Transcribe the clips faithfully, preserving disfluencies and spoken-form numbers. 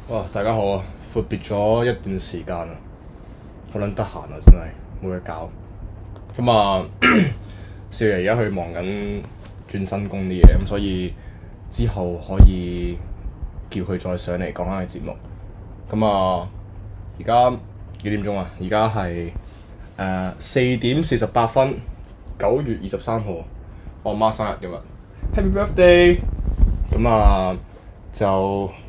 哇！大家好啊，闊別咗一段時間啊，好撚得閒啊，真係冇嘢搞。咁啊，少爺而家去忙緊轉新工啲嘢，咁所以之後可以叫佢再上嚟講下嘅節目。咁啊，而家幾點鐘啊？而家係誒四點四十八分，九月二十三號，我媽生日今日，Happy Birthday！咁啊就〜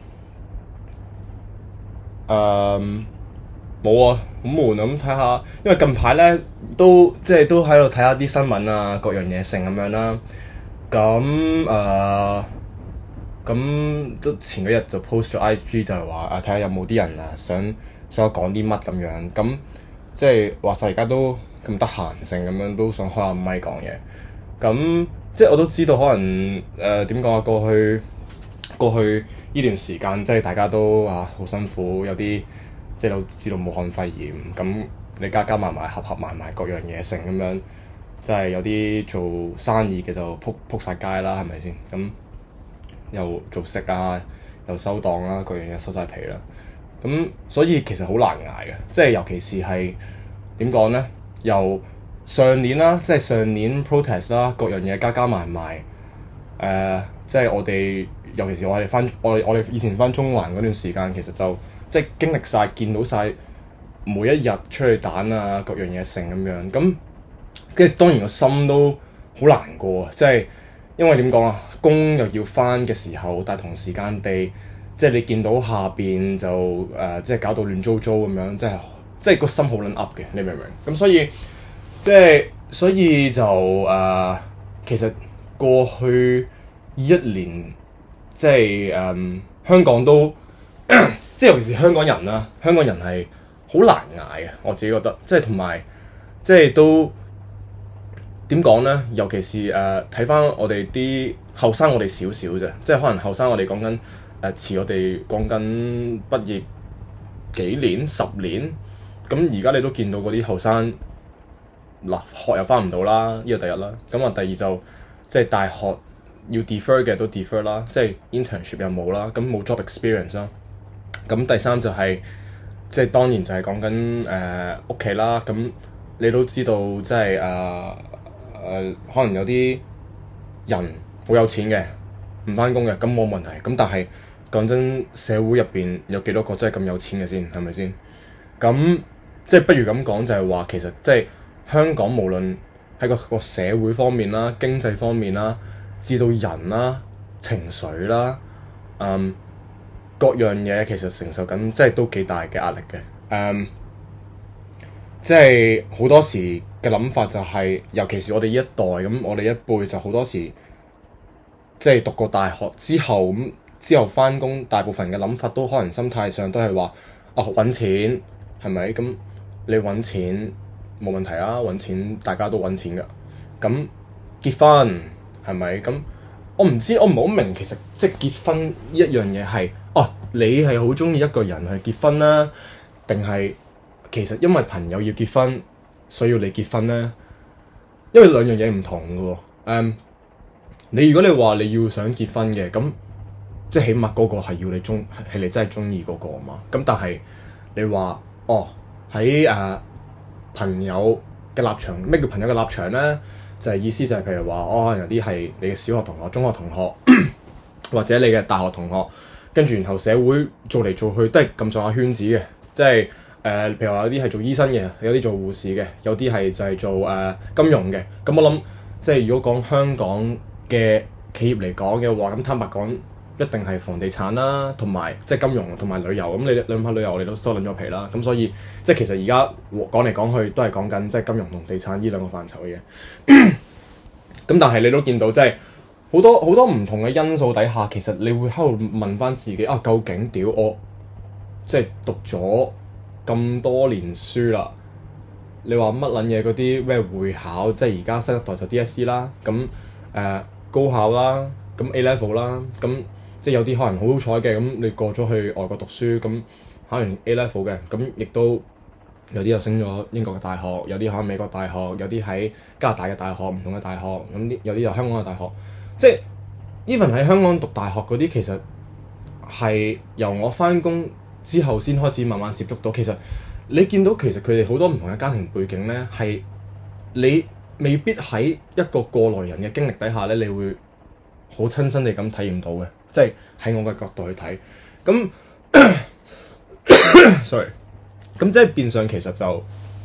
誒冇啊，好悶啊！咁睇下，因為近排咧都即係都喺度睇下啲新聞啊，各樣嘢成咁樣啦。咁誒咁都前幾日就 post 咗 I G 就係話啊，睇下有冇啲人啊想想我講啲乜咁樣。咁即係話晒而家都咁得閒性咁樣，都想開下咪講嘢。咁即係我都知道可能誒點講啊，過去。過去呢段時間即係大家都啊好辛苦，有啲即係都知道武漢肺炎，咁你加加埋埋合合埋埋各樣嘢成咁樣，即係有啲做生意嘅就撲撲曬街啦，係咪先？咁又做食啊，又收檔啦，各樣嘢收晒皮啦。咁所以其實好難捱嘅，即係尤其是係點講咧？由上年啦，即係上年 protest 啦，各樣嘢加加埋埋，誒、呃，即係我哋。尤其是我哋翻我我哋以前翻中環嗰段時間，其實就即係經歷晒、見到晒每一日出去彈啊，各樣嘢成咁樣。咁即係當然個心都好難過啊！即係因為點講啊，工又要翻嘅時候，但係同時間地，即係你見到下邊就誒、呃，即係搞到亂糟糟咁樣，即係即係個心好撚噏嘅，你明唔明？咁所以即係所以就誒、呃，其實過去一年。即係誒、嗯、香港都即係尤其是香港人啦，香港人係好難捱嘅，我自己覺得。即係同埋即係都點講咧？尤其是誒睇翻我哋啲後生，我哋少少啫。即係可能後生我哋講緊誒遲我哋講緊畢業幾年十年。咁而家你都見到嗰啲後生嗱學又翻唔到啦，呢個第一啦。咁啊第二就即係大學。要 defer 嘅都 defer 啦，即係 internship 又冇啦，咁冇 job experience 啦。咁第三就係、是、即係當然就係講緊誒屋企啦。咁你都知道即係誒誒可能有啲人好有錢嘅，唔返工嘅，咁冇問題。咁但係講真，社會入邊有幾多個真係咁有錢嘅先係咪先？咁即係不如咁講就係話，其實即係香港無論喺個個社會方面啦、經濟方面啦。至到人啦、情緒啦、嗯，各樣嘢其實承受緊，即係都幾大嘅壓力嘅。誒、嗯，即係好多時嘅諗法就係、是，尤其是我哋呢一代咁，我哋一輩就好多時，即係讀過大學之後咁，之後返工，大部分嘅諗法都可能心態上都係話，啊揾錢係咪？咁你揾錢冇問題啊，揾錢大家都揾錢㗎。咁結婚。係咪咁？我唔知，我唔係好明。其實即係結婚呢一樣嘢係，哦，你係好中意一個人去結婚啦，定係其實因為朋友要結婚，所以要你結婚咧？因為兩樣嘢唔同嘅喎。誒、嗯，你如果你話你要想結婚嘅，咁即係起碼嗰個係要你中，係你真係中意嗰個啊嘛。咁但係你話，哦喺誒、呃、朋友嘅立場，咩叫朋友嘅立場咧？就係意思就係譬如話，哦，可能有啲係你嘅小學同學、中學同學，或者你嘅大學同學，跟住然後社會做嚟做去都係咁上下圈子嘅，即係誒、呃，譬如話有啲係做醫生嘅，有啲做護士嘅，有啲係就係做誒、呃、金融嘅。咁我諗，即係如果講香港嘅企業嚟講嘅話，咁坦白講，一定係房地產啦，同埋即係金融同埋旅遊。咁你諗下旅遊，我哋都收撚咗皮啦。咁所以即係其實而家講嚟講去都係講緊即係金融同地產呢兩個範疇嘅嘢。咁但係你都見到即係好多好多唔同嘅因素底下，其實你會喺度問翻自己啊，究竟屌我即係讀咗咁多年書啦？你話乜撚嘢嗰啲咩會考，即係而家新一代就 D S C 啦，咁誒、呃、高考啦，咁 A level 啦，咁。即係有啲可能好好彩嘅，咁你過咗去外國讀書，咁考完 A level 嘅，咁亦都有啲又升咗英國嘅大學，有啲考美國大學，有啲喺加拿大嘅大學，唔同嘅大學，咁啲有啲又香港嘅大學。即係 even 喺香港讀大學嗰啲，其實係由我翻工之後先開始慢慢接觸到。其實你見到其實佢哋好多唔同嘅家庭背景咧，係你未必喺一個過來人嘅經歷底下咧，你會好親身地咁體驗到嘅。即係喺我嘅角度去睇，咁 sorry，咁即係變相其實就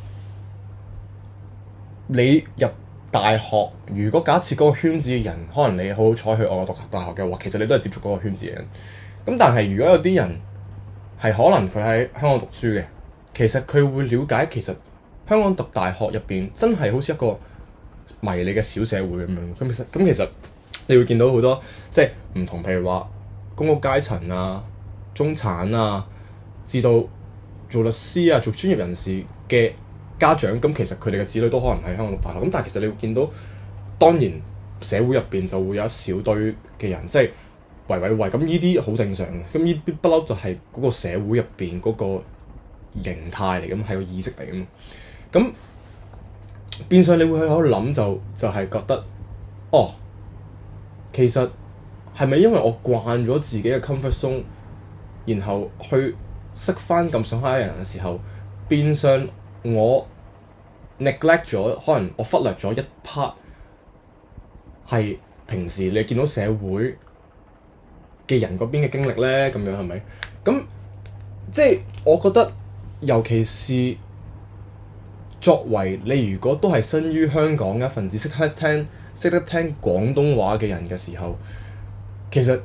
你入大學，如果假設嗰個圈子嘅人，可能你好好彩去外國讀大學嘅話，其實你都係接觸嗰個圈子嘅人。咁但係如果有啲人係可能佢喺香港讀書嘅，其實佢會了解其實香港讀大學入邊真係好似一個迷你嘅小社會咁樣。咁其實咁其實你會見到好多即係唔同，譬如話公屋階層啊、中產啊，至到做律師啊、做專業人士嘅家長，咁其實佢哋嘅子女都可能喺香港讀大學。咁但係其實你會見到，當然社會入邊就會有一小堆嘅人，即係圍圍圍，咁呢啲好正常嘅。咁呢啲不嬲就係嗰個社會入邊嗰個形態嚟，咁係個意識嚟嘅嘛。咁變相你會喺度諗就就係、是、覺得，哦，其實係咪因為我慣咗自己嘅 comfort zone，然後去識翻咁上下嘅人嘅時候，變相我 neglect 咗，可能我忽略咗一 part 係平時你見到社會嘅人嗰邊嘅經歷咧，咁樣係咪？咁即係我覺得，尤其是作為你如果都係身於香港嘅一份子，識得聽識得聽廣東話嘅人嘅時候，其實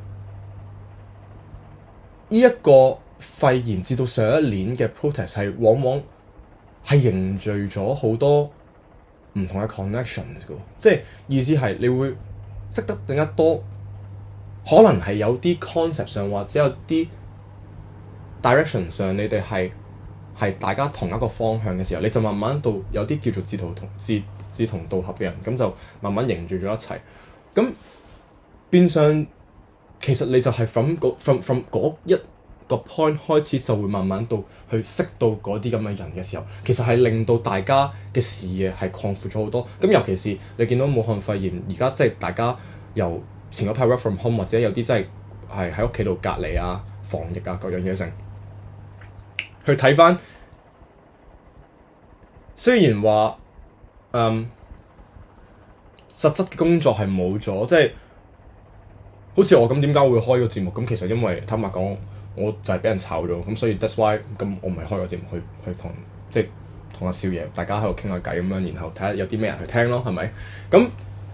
呢一個肺炎至到上一年嘅 protest 係往往係凝聚咗好多唔同嘅 connections 嘅，即係意思係你會識得更加多，可能係有啲 concept 上或者有啲 direction 上，你哋係係大家同一個方向嘅時候，你就慢慢到有啲叫做志同同志志同道合嘅人，咁就慢慢凝聚咗一齊。咁變相其實你就係 from 嗰 from from 嗰一個 point 開始，就會慢慢到去識到嗰啲咁嘅人嘅時候，其實係令到大家嘅視野係擴闊咗好多。咁尤其是你見到武漢肺炎而家即係大家由前嗰排 work from home，或者有啲真係係喺屋企度隔離啊、防疫啊各樣嘢成，去睇翻，雖然話嗯實質嘅工作係冇咗，即係好似我咁點解會開個節目？咁其實因為坦白講，我就係俾人炒咗，咁所以 that's why 咁我咪開個節目去去同即係同阿少爺大家喺度傾下偈咁樣，然後睇下有啲咩人去聽咯，係咪？咁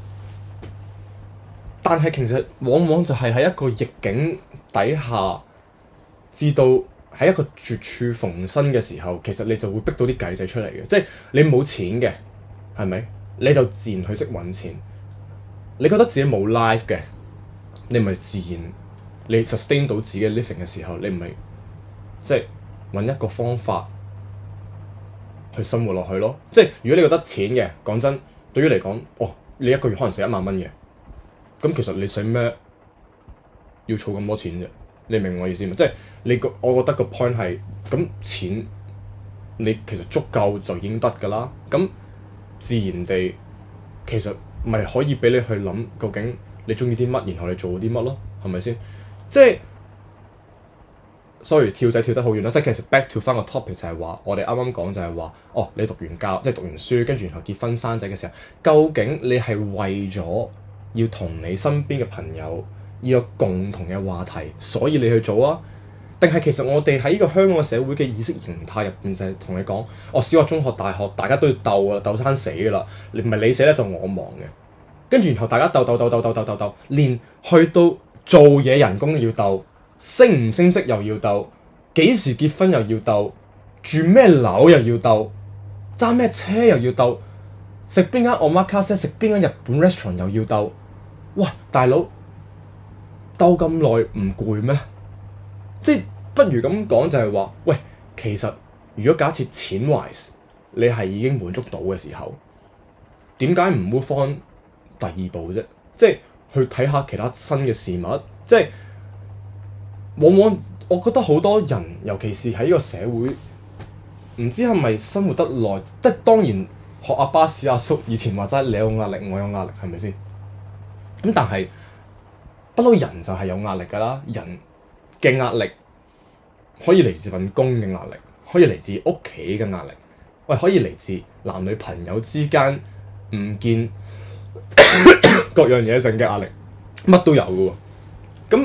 但係其實往往就係喺一個逆境底下，至到喺一個絕處逢生嘅時候，其實你就會逼到啲計仔出嚟嘅。即係你冇錢嘅，係咪？你就自然去識揾錢。你覺得自己冇 life 嘅，你咪自然你 sustain 到自己 living 嘅時候，你唔係即係揾一個方法去生活落去咯。即係如果你覺得錢嘅，講真，對於嚟講，哦，你一個月可能使一萬蚊嘅，咁其實你使咩要儲咁多錢啫？你明我意思嘛？即係你個，我覺得個 point 係咁錢，你其實足夠就已經得㗎啦。咁自然地，其實咪可以俾你去諗，究竟你中意啲乜，然後你做啲乜咯，係咪先？即係 sorry 跳仔跳得好遠啦。即係其實 back to 翻個 topic 就係話，我哋啱啱講就係話，哦，你讀完教，即係讀完書，跟住然後結婚生仔嘅時候，究竟你係為咗要同你身邊嘅朋友要有共同嘅話題，所以你去做啊？定係其實我哋喺呢個香港嘅社會嘅意識形態入邊就係同你講，哦，小學、中學、大學大家都要鬥啊，鬥生死㗎啦，你唔係你死咧就我亡嘅。跟住然後大家鬥鬥鬥鬥鬥鬥鬥鬥，連去到做嘢人工要鬥，升唔升職又要鬥，幾時結婚又要鬥，住咩樓又要鬥，揸咩車又要鬥，食邊間 omakase 食邊間日本 restaurant 又要鬥。哇，大佬鬥咁耐唔攰咩？即係不如咁講就係話，喂，其實如果假設錢 wise 你係已經滿足到嘅時候，點解唔 move on第二步啫？即係去睇下其他新嘅事物。即係往往我覺得好多人，尤其是喺呢個社會，唔知係咪生活得耐，即係當然學阿巴士阿叔以前話齋，你有壓力，我有壓力，係咪先？咁但係不嬲人就係有壓力㗎啦，人嘅壓力可以嚟自份工嘅壓力，可以嚟自屋企嘅壓力，喂，可以嚟自男女朋友之間唔見各樣嘢性嘅壓力，乜都有嘅喎。咁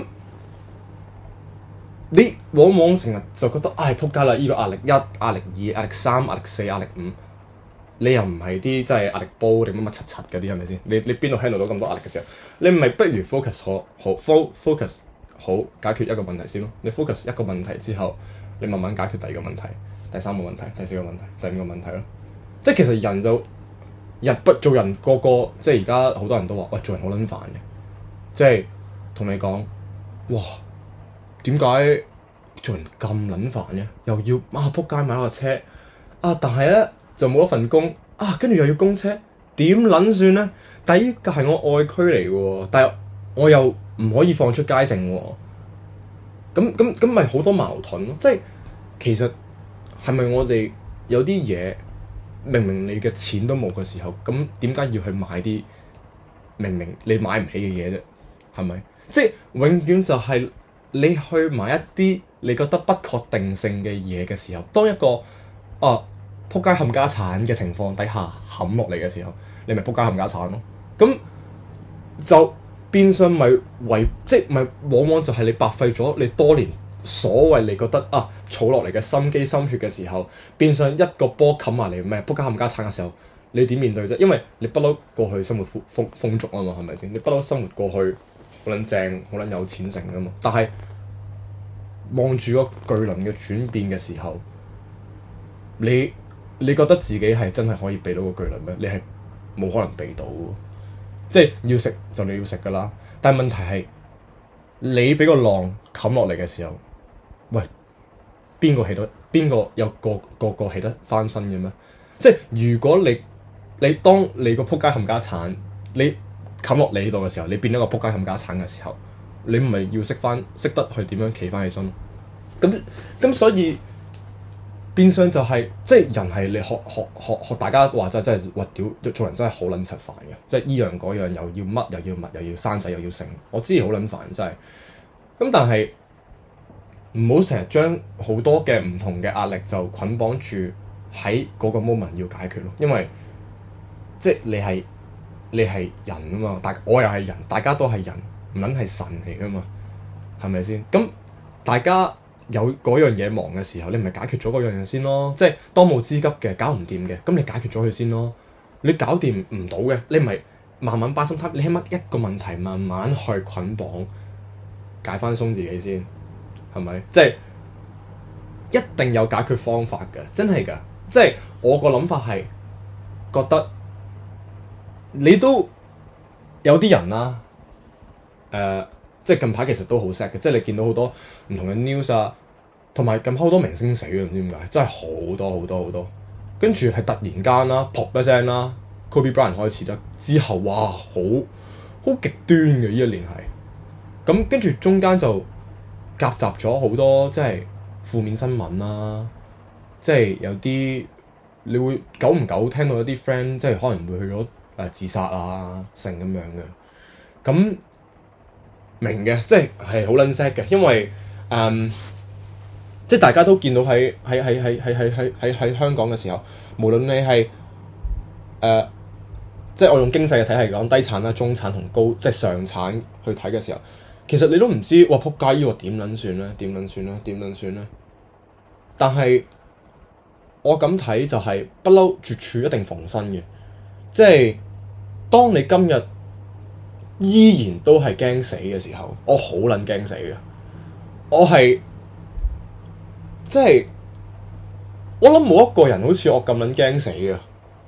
你往往成日就覺得唉撲街啦！依、這個壓力一、壓力二、壓力三、壓力四、壓力五，你又唔係啲真係壓力煲定乜乜柒柒嗰啲係咪先？你你邊度 handle 到咁多壓力嘅時候，你咪不如 focus 好好 focus 好解決一個問題先咯。你 focus 一個問題之後，你慢慢解決第二個問題、第三個問題、第四個問題、第五個問題咯。即係其實人就人不做人個個，即係而家好多人都話喂，做人好撚煩嘅，即係同你講哇。點解做人咁撚煩嘅？又要啊撲街買咗個車啊，但係咧就冇一份工啊，跟住又要供車，點撚算咧？但係依個係我愛區嚟嘅喎，但係我又唔可以放出街城喎。咁咁咁咪好多矛盾咯。即係其實係咪我哋有啲嘢明明你嘅錢都冇嘅時候，咁點解要去買啲明明你買唔起嘅嘢啫？係咪？即係永遠就係、是。你去買一啲你覺得不確定性嘅嘢嘅時候，當一個啊撲街冚家產嘅情況底下冚落嚟嘅時候，你咪撲街冚家產咯。咁就變相咪為即係咪往往就係你白費咗你多年所謂你覺得啊儲落嚟嘅心機心血嘅時候，變相一個波冚埋嚟咩撲街冚家產嘅時候，你點面對啫？因為你不嬲過去生活豐豐豐足啊嘛，係咪先？你不嬲生活過去。好撚正，好撚有錢成噶嘛！但係望住個巨輪嘅轉變嘅時候，你你覺得自己係真係可以避到個巨輪咩？你係冇可能避到，即係要食就你要食噶啦。但係問題係你俾個浪冚落嚟嘅時候，喂，邊個起到？邊個有個個個起得翻身嘅咩？即係如果你你當你個撲街冚家產，你冚落你呢度嘅時候，你變咗個撲街冚家產嘅時候，你唔係要識翻識得去點樣企翻起身咯？咁咁所以變相就係、是、即係人係你學學學學大家話齋真係話屌做人真係好撚柒煩嘅，即係依樣嗰樣又要乜又要物又要生仔又要成，我知好撚煩真係。咁但係唔好成日將好多嘅唔同嘅壓力就捆綁住喺嗰個 moment 要解決咯，因為即係你係。你係人啊嘛，大我又係人，大家都係人，唔撚係神嚟噶嘛，係咪先？咁大家有嗰樣嘢忙嘅時候，你咪解決咗嗰樣嘢先咯。即係當務之急嘅，搞唔掂嘅，咁你解決咗佢先咯。你搞掂唔到嘅，你咪慢慢把心態，你起碼一個問題慢慢去捆綁，解翻鬆自己先，係咪？即係一定有解決方法嘅，真係㗎。即係我個諗法係覺得。你都有啲人啦、啊，誒、呃，即係近排其實都好 sad 嘅，即係你見到好多唔同嘅 news 啊，同埋近排好多明星死嘅，唔知點解，真係好多好多好多，跟住係突然間啦，噗一聲啦 Kobe Bryant 開始啦，之後哇，好好極端嘅呢一年係，咁跟住中間就夾雜咗好多即係負面新聞啦、啊，即係有啲你會久唔久聽到一啲 friend 即係可能會去咗。誒、呃、自殺啊，成咁樣嘅，咁明嘅，即係係好撚 sad 嘅，因為誒、嗯，即係大家都見到喺喺喺喺喺喺喺喺香港嘅時候，無論你係誒、呃，即係我用經濟嘅體系講低產啦、中產同高即係上產去睇嘅時候，其實你都唔知哇撲街呢個點撚算咧？點撚算咧？點撚算咧？但係我咁睇就係不嬲絕處一定逢生嘅，即係。當你今日依然都係驚死嘅時候，我好撚驚死嘅。我係即係我諗冇一個人好似我咁撚驚死嘅。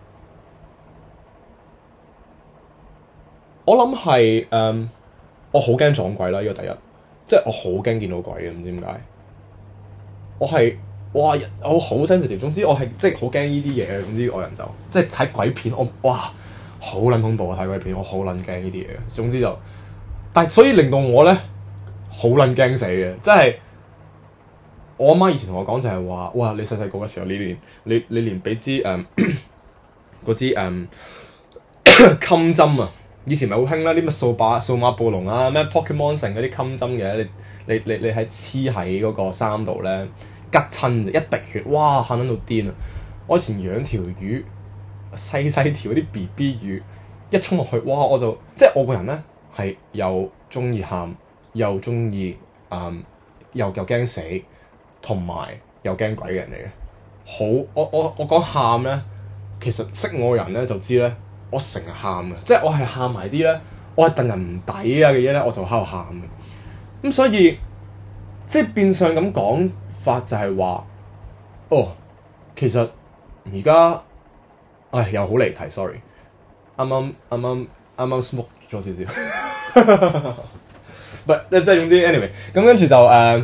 我諗係誒，我好驚撞鬼啦！呢、這個第一，即係我好驚見到鬼嘅，唔知點解。我係哇，我好 sensitive。總之我係即係好驚呢啲嘢嘅。總之我人就即係睇鬼片，我哇〜好撚恐怖啊！睇鬼片，我好撚驚呢啲嘢嘅。總之就，但係所以令到我咧好撚驚死嘅，即係我阿媽以前同我講就係話，哇！你細細個嘅時候，你連你你連俾支誒嗰支誒襟針啊， 以前咪好興啦，啲乜數碼數碼暴龍啊，咩 Pokemon 成嗰啲襟針嘅，你你你你喺黐喺嗰個衫度咧，吉親就一滴血，哇嚇撚到癲啊！我以前養條魚，細細條嗰啲 B B 魚，一衝落去，哇！我就即係我個人咧係又中意喊，又中意誒，又又驚死，同埋又驚鬼嘅人嚟嘅。好，我我我講喊咧，其實識我嘅人咧就知咧，我成日喊嘅，即係我係喊埋啲咧，我係戥人唔抵啊嘅嘢咧，我就喺度喊嘅。咁所以即係變相咁講法就係話，哦，其實而家，唉又好離題 ，sorry，啱啱啱啱啱啱 smoke 咗少少，唔係即係總之 anyway，咁跟住就誒。Uh,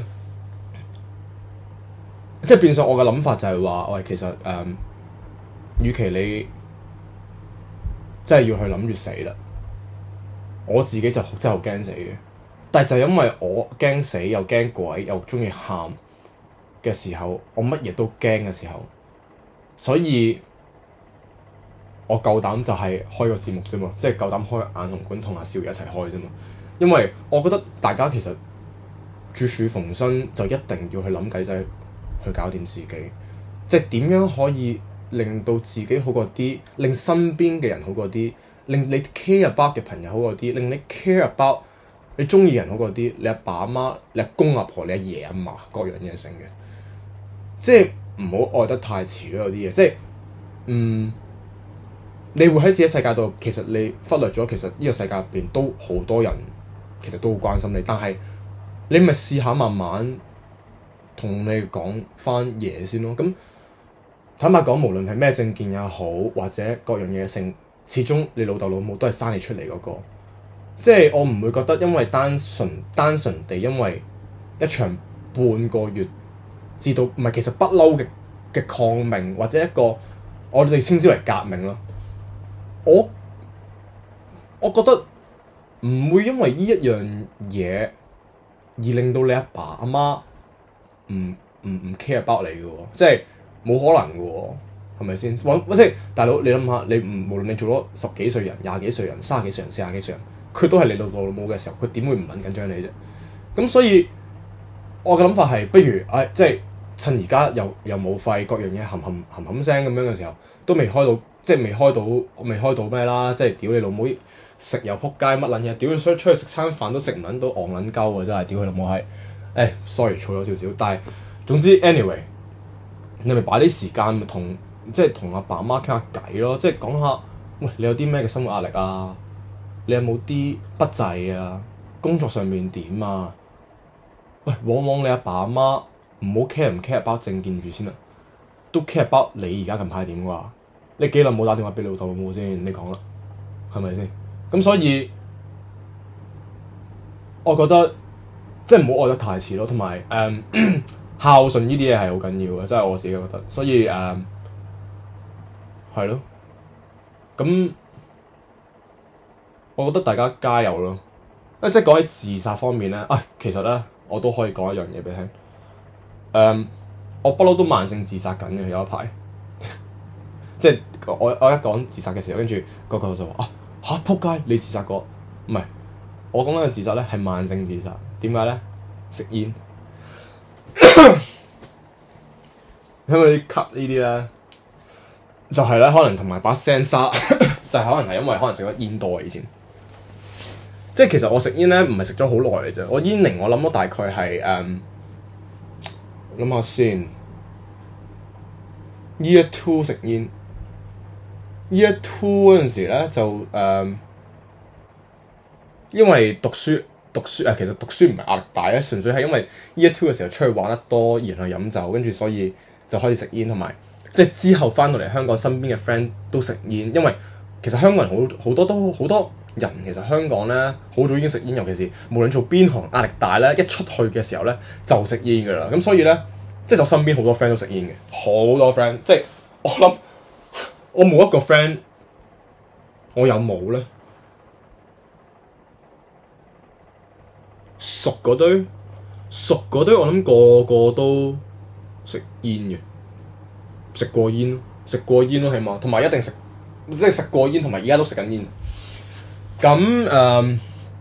即係變相我嘅諗法就係話，喂，其實誒、嗯，與其你真係要去諗住死啦，我自己就真係好驚死嘅。但係就因為我驚死又驚鬼又中意喊嘅時候，我乜嘢都驚嘅時候，所以我夠膽就係開個節目啫嘛，即係夠膽開眼紅館同阿少爺一齊開啫嘛。因為我覺得大家其實絕處逢生，就一定要去諗計仔。去搞掂自己，即係點樣可以令到自己好過啲，令身邊嘅人好過啲，令你 care about 嘅朋友好過啲，令你 care about 你中意人好過啲，你阿爸阿媽、你阿公阿婆、你阿爺阿嫲各樣嘢成嘅，即係唔好愛得太遲咯。有啲嘢即係嗯，你會喺自己世界度，其實你忽略咗，其實呢個世界入邊都好多人其實都好關心你，但係你咪試下慢慢。同你講翻嘢先咯，咁坦白講，無論係咩政見也好，或者各樣嘢性，始終你老豆老母都係生你出嚟嗰個，即係我唔會覺得因為單純單純地因為一場半個月至到唔係其實不嬲嘅嘅抗命或者一個我哋稱之為革命咯，我我覺得唔會因為呢一樣嘢而令到你阿爸阿媽。唔唔唔 care about 你嘅喎，即係冇可能嘅喎，係咪先？即係大佬，你諗下，你唔無論你做咗十幾歲人、廿幾歲人、三十幾歲人、四十幾歲人，佢都係你老豆老母嘅時候，佢點會唔撚緊張你啫？咁所以我嘅諗法係，不如唉、哎，即係趁而家又又冇肺，各樣嘢冚冚冚冚聲咁樣嘅時候，都未開到，即係未開到，未開到咩啦？即係屌你老母食又撲街乜撚嘢？屌你出出去食餐飯都食唔撚到戇撚鳩啊！真係屌佢老母閪！誒、哎、sorry 錯咗少少，但係總之 anyway，你咪擺啲時間同即係同阿爸阿媽傾下偈咯，即係講下，喂，你有啲咩嘅生活壓力啊？你有冇啲不濟啊？工作上面點啊？喂，往往你阿爸阿媽唔好 care 唔 care about 政見住先啦，都 care about 你而家近排點啩？你幾耐冇打電話俾老豆老母先？你講啦，係咪先？咁所以，我覺得。即係唔好愛得太遲咯，同埋誒孝順呢啲嘢係好緊要嘅，即係我自己覺得。所以誒係咯，咁我覺得大家加油咯。誒即係講起自殺方面咧，啊其實咧我都可以講一樣嘢俾你聽。誒、嗯、我不嬲都慢性自殺緊嘅，有一排。即係我我一講自殺嘅時候，跟住個個就話啊嚇仆街，你自殺過？唔係，我講緊嘅自殺咧係慢性自殺。點解咧？食煙，因為啲咳呢啲咧，就係、是、咧可能同埋把聲沙，就係可能係因為可能食咗煙多以前。即係其實我食煙咧唔係食咗好耐嘅啫，我煙齡我諗咗大概係誒，諗、um, 下先 ，year two 食煙 ，year two 嗰陣時咧就誒，um, 因為讀書。讀書啊，其實讀書唔係壓力大咧，純粹係因為 year two 嘅時候出去玩得多，然後飲酒，跟住所以就開始食煙，同埋即係之後翻到嚟香港，身邊嘅 friend 都食煙，因為其實香港人好好多都好多人，其實香港咧好早已經食煙，尤其是無論做邊行壓力大咧，一出去嘅時候咧就食煙㗎啦。咁所以咧，即係我身邊好多 friend 都食煙嘅，好多 friend，即係我諗我冇一個 friend，我有冇咧？熟嗰堆，熟嗰堆，我諗個個都食煙嘅，食過煙咯，食過煙咯，起碼同埋一定食，即係食過煙，同埋而家都食緊煙。 咁誒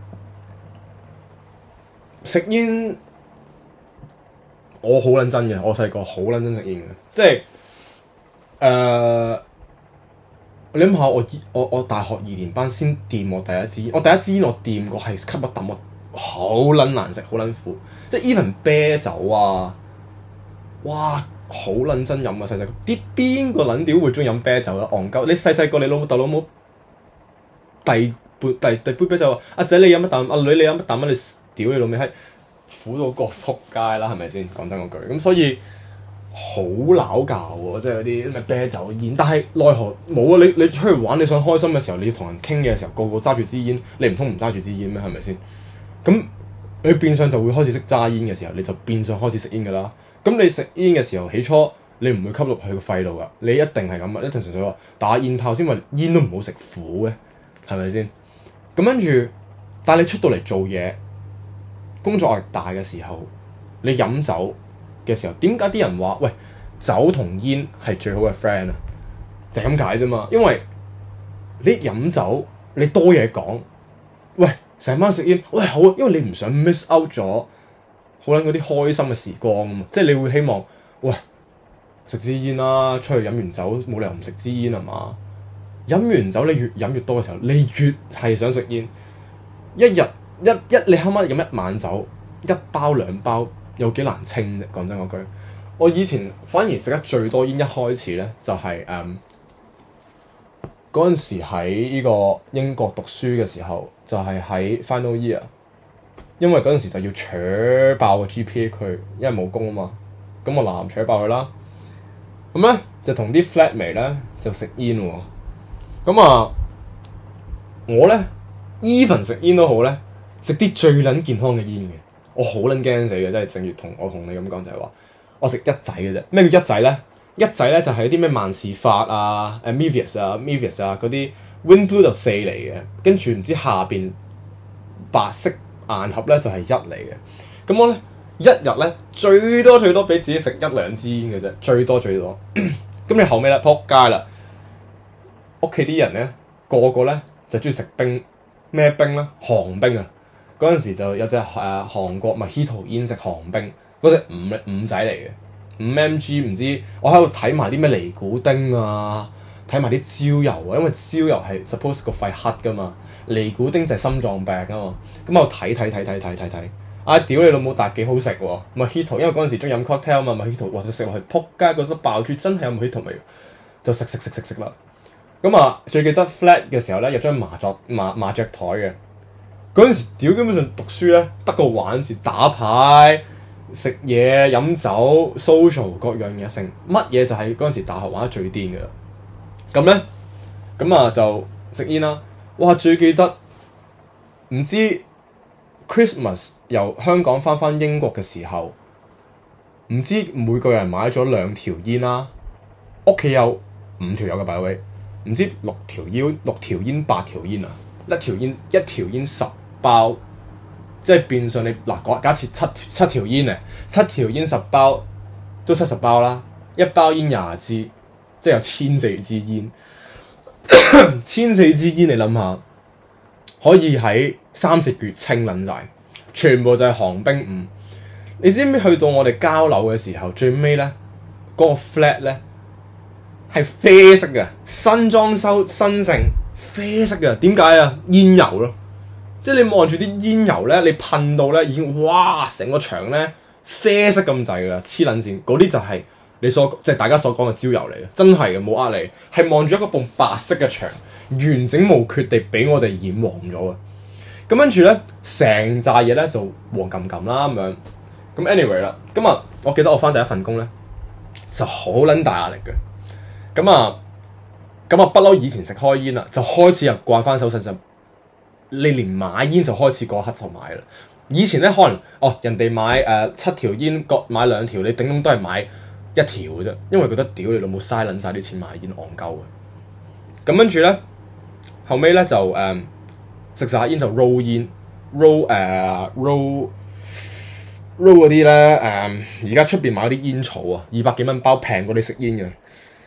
食煙，我好撚真嘅，我細個好撚真食煙嘅，即係誒、呃、你諗下，我我我大學二年班先掂我第一支煙，我第一支煙我掂過係吸一啖，我好撚難食，好撚苦，即係 even 啤酒啊，哇！好撚真飲啊！細細個啲邊個撚屌會中意飲啤酒啊？戇鳩！你細細個你老豆老母遞杯遞遞杯啤酒，阿仔你飲一啖，阿女你飲一啖啊！你屌你老味閪，苦到個撲街啦，係咪先？講真嗰句，咁所以好撈教喎，即係嗰啲咩啤酒煙。但係奈何冇啊！你你出去玩，你想開心嘅時候，你要同人傾嘅時候，個個揸住支煙，你唔通唔揸住支煙咩？係咪先？咁你變相就會開始識揸煙嘅時候，你就變相開始食煙㗎啦。咁你食煙嘅時候，起初你唔會吸入去個肺度噶，你一定係咁啊，一定純粹話打煙炮先，話煙都唔好食苦嘅，係咪先？咁跟住，但係你出到嚟做嘢，工作壓力大嘅時候，你飲酒嘅時候，點解啲人話喂酒同煙係最好嘅 friend 啊？就係咁解啫嘛，因為你飲酒你多嘢講，喂成晚食煙，喂好啊，因為你唔想 miss out 咗。好撚嗰啲開心嘅時光啊嘛，即係你會希望，喂食支煙啦，出去飲完酒冇理由唔食支煙係嘛？飲完酒你越飲越多嘅時候，你越係想食煙。一日一一你啱啱飲一晚酒，一包兩包有幾難清啫？講真嗰句，我以前反而食得最多煙，一開始咧就係誒嗰陣時喺呢個英國讀書嘅時候，就係、是、喺 final year。因為嗰陣時就要扯爆個 G P A 佢，因為冇工啊嘛，咁我嗱嗱扯爆佢啦。咁咧就同啲 flatmate 咧就食煙喎。咁啊，我咧 even 食煙都好咧，食啲最撚健康嘅煙嘅。我好撚驚死嘅，即係正如同我同你咁講就係話，我食一仔嘅啫。咩叫一仔咧？一仔咧就係啲咩萬事法啊、誒 Mevius 啊、Mevius 啊嗰啲 Wind Blue 就四嚟嘅，跟住唔知下邊白色。硬盒咧就係一嚟嘅，咁我咧一日咧最多最多俾自己食一兩支煙嘅啫，最多最多。咁你後尾咧撲街啦，屋企啲人咧個個咧就中意食冰，咩冰咧？韓冰啊！嗰陣時就有隻誒、呃、韓國 Mojito 煙食韓冰，嗰隻五五仔嚟嘅，五 mg 唔知，我喺度睇埋啲咩尼古丁啊，睇埋啲焦油啊，因為焦油係 suppose 個肺黑噶嘛。尼古丁就係心臟病啊嘛，咁我睇睇睇睇睇睇睇，啊屌你老母，但係幾好食喎！Mojito，因為嗰陣時中意飲 cocktail 啊嘛，Mojito 哇食落去撲街，覺得爆珠真係有 Mojito味，就食食食食食啦。咁啊，最記得 flat 嘅時候咧，有張麻雀麻麻雀台嘅，嗰陣時屌基本上讀書咧得個玩字，打牌、食嘢、飲酒、social 各樣嘢成，乜嘢就係嗰陣時大學玩得最癲嘅啦。咁咧，咁啊就食煙啦。哇！最記得唔知 Christmas 由香港翻返英國嘅時候，唔知每個人買咗兩條煙啦，屋企有五條友嘅擺位，唔知六條煙六條煙八條煙啊，一條煙一條煙十包，即係變相你嗱假設七七條煙啊，七條煙十包都七十包啦，一包煙廿支，即係有千四支煙。千四支煙，你諗下，可以喺三四個月清撚晒，全部就係寒冰五。你知唔知去到我哋交樓嘅時候，最尾咧嗰個 flat 咧係啡色嘅，新裝修新城啡色嘅，點解啊？煙油咯，即係你望住啲煙油咧，你噴到咧已經哇，成個牆咧啡色咁滯噶，黐撚線，嗰啲就係、是。你所即係大家所講嘅焦油嚟嘅，真係嘅冇呃你，係望住一個埲白色嘅牆，完整無缺地俾我哋染黃咗嘅。咁跟住咧，成扎嘢咧就黃冚冚啦咁樣。咁 anyway 啦，今日我記得我返第一份工咧就好撚大壓力嘅。咁啊，咁啊不嬲以前食開煙啦，就開始又慣翻手勢就，你連買煙就開始嗰刻就買啦。以前咧可能哦人哋買誒、呃、七條煙各買兩條，你頂籠都係買一條嘅啫，因為覺得屌你老母嘥撚晒啲錢買煙戇鳩嘅。咁跟住咧，後尾咧就誒食晒煙就 roll 煙 roll 誒、uh, roll roll 嗰啲咧誒，而家出邊買嗰啲煙草啊，二百幾蚊包平過你食煙嘅。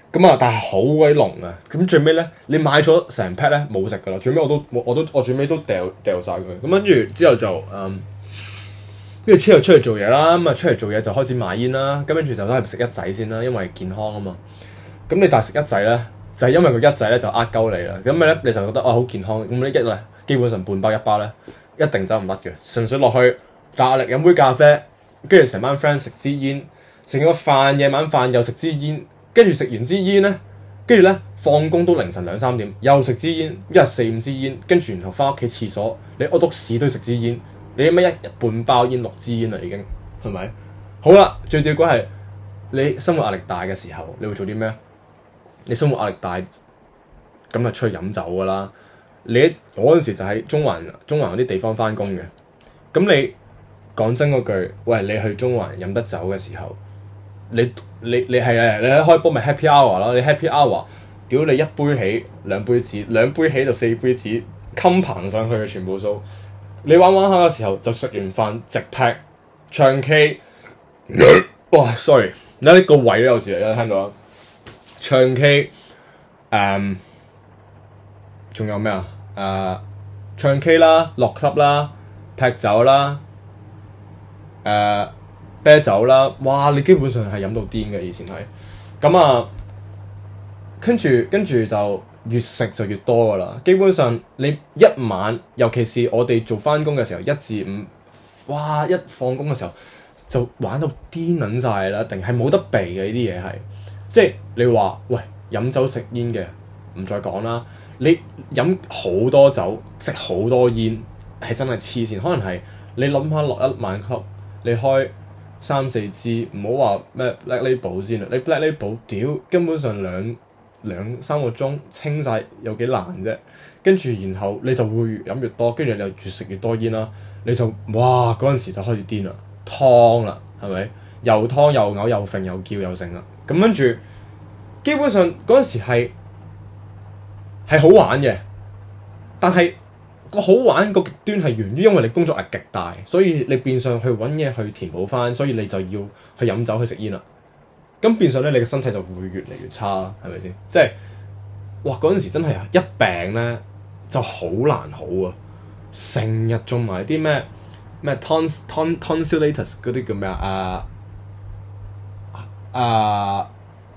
咁啊，但係好鬼濃啊！咁最尾咧，你買咗成 pack 咧冇食噶啦，最尾我都我都我最尾都掉掉曬佢。咁跟住之後就嗯，跟住之後出嚟做嘢啦，咁啊出嚟做嘢就開始買煙啦。咁跟住就都係食一仔先啦，因為健康啊嘛。咁你但係食一仔咧，就係、是、因為佢一仔咧就呃鳩你啦。咁咪咧你就覺得啊好健康，咁呢一咧基本上半包一包咧一定走唔甩嘅，純粹落去大壓力飲杯咖啡，跟住成班 friend 食支煙，食個飯夜晚飯又食支煙。跟住食完支煙咧，跟住咧放工都凌晨兩三點，又食支煙，一日四五支煙，跟住然後翻屋企廁所，你屙督屎都要食支煙，你乜一日半包煙六支煙啦已經，係咪？好啦，最吊詭係你生活壓力大嘅時候，你會做啲咩？你生活壓力大，咁就出去飲酒噶啦。你我嗰陣時就喺中環中環嗰啲地方翻工嘅，咁你講真嗰句，喂，你去中環飲得酒嘅時候。你你你係啊！你一開波咪 happy hour 咯，你 happy hour，屌你一杯起兩杯止，兩杯起就四杯止，冚棚上去嘅全部數。你玩玩下嘅時候就食完飯直劈唱 K， 哇 sorry， 你睇呢個位都有時有聽到啊！唱 K， 誒、嗯，仲有咩啊？誒、呃，唱 K 啦，落 club 啦，劈酒啦，誒、呃。啤酒啦，哇！你基本上係飲到癲嘅，以前係咁啊，跟住跟住就越食就越多噶啦。基本上你一晚，尤其是我哋做翻工嘅時候，一至五，哇！一放工嘅時候就玩到癲撚晒啦，定係冇得避嘅呢啲嘢係，即係你話喂飲酒食煙嘅唔再講啦，你飲好多酒食好多煙係真係黐線，可能係你諗下落一晚 club，你開三四支，唔好話咩 Black Label 先啦，你 Black Label 屌根本上兩兩三個鐘清晒有幾難啫，跟住然後你就會越飲越多，跟住你又越食越多煙啦，你就哇嗰陣時就開始癲啦，湯啦係咪？又湯又嘔又揈又叫又剩啦，咁跟住基本上嗰陣時係係好玩嘅，但係個好玩個極端係源於因為你工作壓力極大，所以你變相去揾嘢去填補翻，所以你就要去飲酒去食煙啦。咁變相咧，你嘅身體就會越嚟越差，係咪先？即係哇嗰陣時真係啊，一病咧就好難好啊，成日中埋啲咩咩 tons ton tonsillitis 嗰啲叫咩啊？啊啊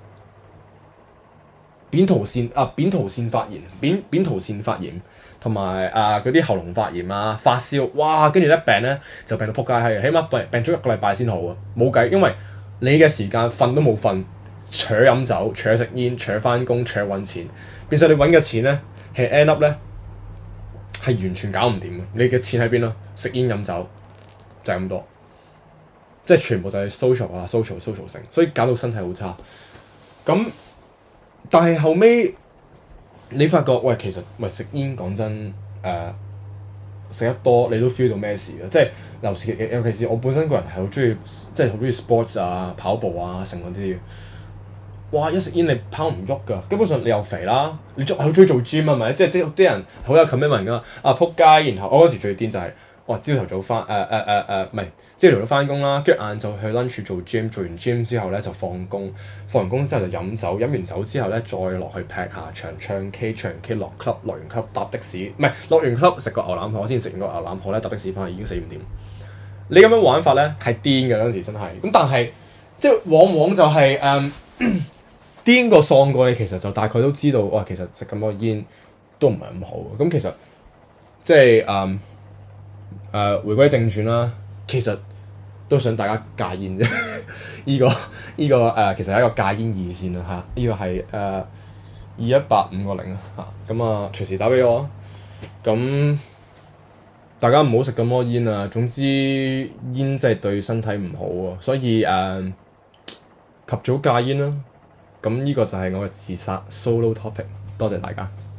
扁桃腺啊扁桃腺發炎，扁扁桃腺發炎。同埋啊嗰啲喉嚨發炎啊發燒，哇！跟住咧病咧就病到仆街閪，起碼病病咗一個禮拜先好啊！冇計，因為你嘅時間瞓都冇瞓，除咗飲酒，除咗食煙，除咗翻工，除咗揾錢，變相你揾嘅錢咧係 end up 咧係完全搞唔掂嘅。你嘅錢喺邊咯？食煙飲酒就係咁多，即係全部就係 social 啊 social social 性，所以搞到身體好差。咁但係後尾。你發覺喂，其實喂食煙講真，誒、呃、食得多你都 feel 到咩事嘅，即係尤其尤其是我本身個人係好中意，即係好中意 sports 啊、跑步啊、成嗰啲。哇！一食煙你跑唔喐㗎，基本上你又肥啦，你好中意做 gym 係咪？即係啲啲人好有 commitment 㗎嘛。啊撲街！然後我嗰時最癲就係、是，哇！朝頭早翻誒誒誒誒，唔係朝頭早翻工啦，跟住晏晝去 lunch 做 gym， 做完 gym 之後咧就放工，放完工之後就飲酒，飲完酒之後咧再落去劈下場唱 K， 唱 K 落 club， 落完 club 搭的士，唔係落完 club 食個牛腩河，先食完個牛腩河咧搭的士翻去已經四五點。你咁樣玩法咧係癲嘅嗰陣時真係，咁但係即係往往就係、是、誒。嗯癲過喪過，你其實就大概都知道，哇！其實食咁多煙都唔係咁好。咁其實即係誒誒，回歸正傳啦，其實都想大家戒煙啫。依、這個依、這個誒、呃，其實係一個戒煙熱線啦嚇。依、這個係誒二一八五個零啊嚇。咁啊，隨時打俾我。咁大家唔好食咁多煙啊。總之煙真係對身體唔好啊，所以誒、呃、及早戒煙啦。咁呢個就係我嘅自殺 solo topic，多謝大家。